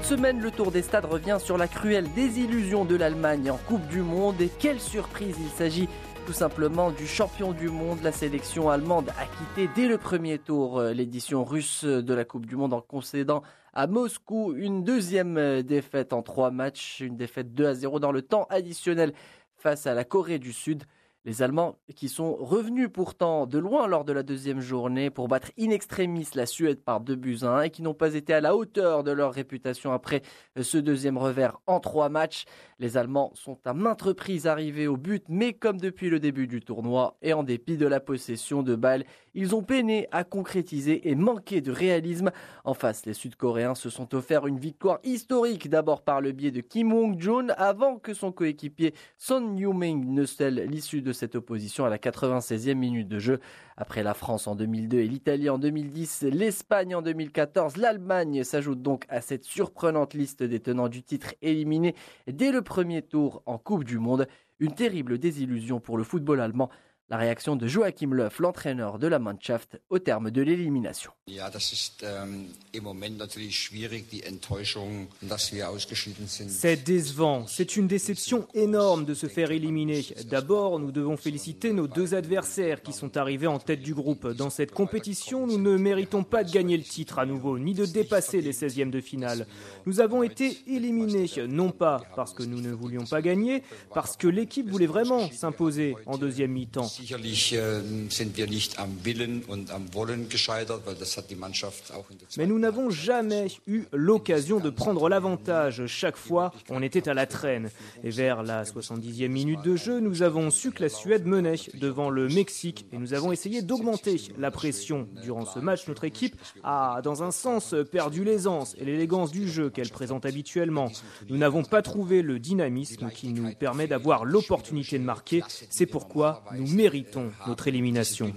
semaine, le Tour des Stades revient sur la cruelle désillusion de l'Allemagne en Coupe du Monde. Et quelle surprise, il s'agit tout simplement du champion du monde. La sélection allemande a quitté dès le premier tour l'édition russe de la Coupe du Monde en concédant à Moscou une deuxième défaite en 3 matchs. Une défaite 2-0 dans le temps additionnel face à la Corée du Sud. Les Allemands qui sont revenus pourtant de loin lors de la deuxième journée pour battre in extremis la Suède par 2-1 et qui n'ont pas été à la hauteur de leur réputation après ce deuxième revers en 3 matchs. Les Allemands sont à maintes reprises arrivés au but, mais comme depuis le début du tournoi et en dépit de la possession de balles, ils ont peiné à concrétiser et manqué de réalisme. En face, les Sud-Coréens se sont offerts une victoire historique, d'abord par le biais de Kim Wong-jun, avant que son coéquipier Son Heung-min ne scelle l'issue de cette opposition à la 96e minute de jeu. Après la France en 2002 et l'Italie en 2010, l'Espagne en 2014, l'Allemagne s'ajoute donc à cette surprenante liste des tenants du titre éliminés dès le premier tour en Coupe du Monde. Une terrible désillusion pour le football allemand. La réaction de Joachim Löw, l'entraîneur de la Mannschaft, au terme de l'élimination. C'est décevant, c'est une déception énorme de se faire éliminer. D'abord, nous devons féliciter nos 2 adversaires qui sont arrivés en tête du groupe. Dans cette compétition, nous ne méritons pas de gagner le titre à nouveau, ni de dépasser les 16e de finale. Nous avons été éliminés, non pas parce que nous ne voulions pas gagner, parce que l'équipe voulait vraiment s'imposer en deuxième mi-temps. Mais nous n'avons jamais eu l'occasion de prendre l'avantage. Chaque fois, on était à la traîne. Et vers la 70e minute de jeu, nous avons su que la Suède menait devant le Mexique et nous avons essayé d'augmenter la pression. Durant ce match, notre équipe a, dans un sens, perdu l'aisance et l'élégance du jeu qu'elle présente habituellement. Nous n'avons pas trouvé le dynamisme qui nous permet d'avoir l'opportunité de marquer. C'est pourquoi nous méritons notre élimination.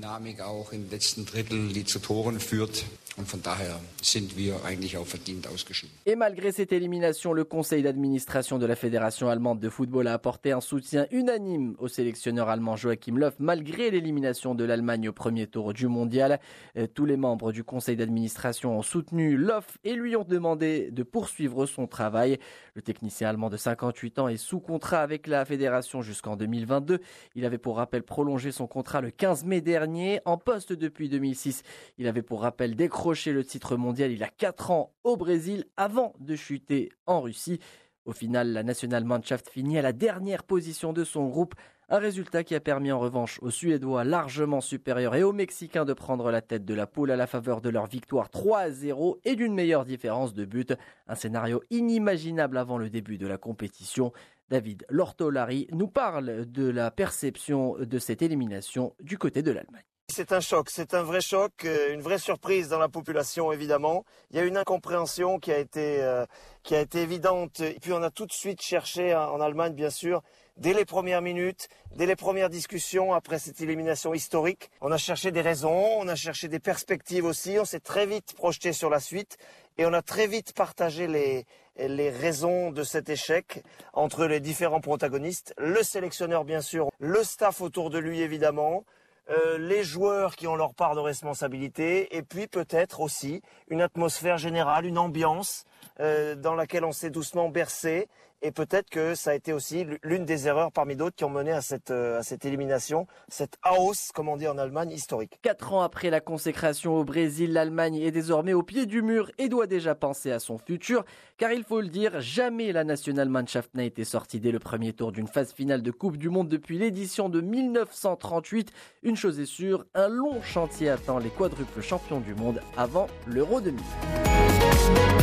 Et malgré cette élimination, le conseil d'administration de la Fédération allemande de football a apporté un soutien unanime au sélectionneur allemand Joachim Löw, malgré l'élimination de l'Allemagne au premier tour du mondial. Tous les membres du conseil d'administration ont soutenu Löw et lui ont demandé de poursuivre son travail. Le technicien allemand de 58 ans est sous contrat avec la fédération jusqu'en 2022. Il avait pour rappel prolongé son contrat le 15 mai dernier. En poste depuis 2006, il avait pour rappel décroché le titre mondial il y a 4 ans au Brésil avant de chuter en Russie. Au final, la Nationalmannschaft finit à la dernière position de son groupe. Un résultat qui a permis en revanche aux Suédois largement supérieurs et aux Mexicains de prendre la tête de la poule à la faveur de leur victoire 3-0 et d'une meilleure différence de but. Un scénario inimaginable avant le début de la compétition. David Lortolari nous parle de la perception de cette élimination du côté de l'Allemagne. C'est un choc, c'est un vrai choc, une vraie surprise dans la population évidemment. Il y a une incompréhension qui a été évidente. Et puis on a tout de suite cherché en Allemagne bien sûr, dès les premières minutes, dès les premières discussions après cette élimination historique. On a cherché des raisons, on a cherché des perspectives aussi. On s'est très vite projeté sur la suite et on a très vite partagé les raisons de cet échec entre les différents protagonistes. Le sélectionneur bien sûr, le staff autour de lui évidemment. Les joueurs qui ont leur part de responsabilité et puis peut-être aussi une atmosphère générale, une ambiance dans laquelle on s'est doucement bercé et peut-être que ça a été aussi l'une des erreurs parmi d'autres qui ont mené à cette élimination, cette Aus, comme on dit en Allemagne, historique. 4 ans après la consécration au Brésil, l'Allemagne est désormais au pied du mur et doit déjà penser à son futur, car il faut le dire, jamais la Nationalmannschaft n'a été sortie dès le premier tour d'une phase finale de Coupe du Monde depuis l'édition de 1938. Une chose est sûre, un long chantier attend les quadruples champions du monde avant l'Euro 2000.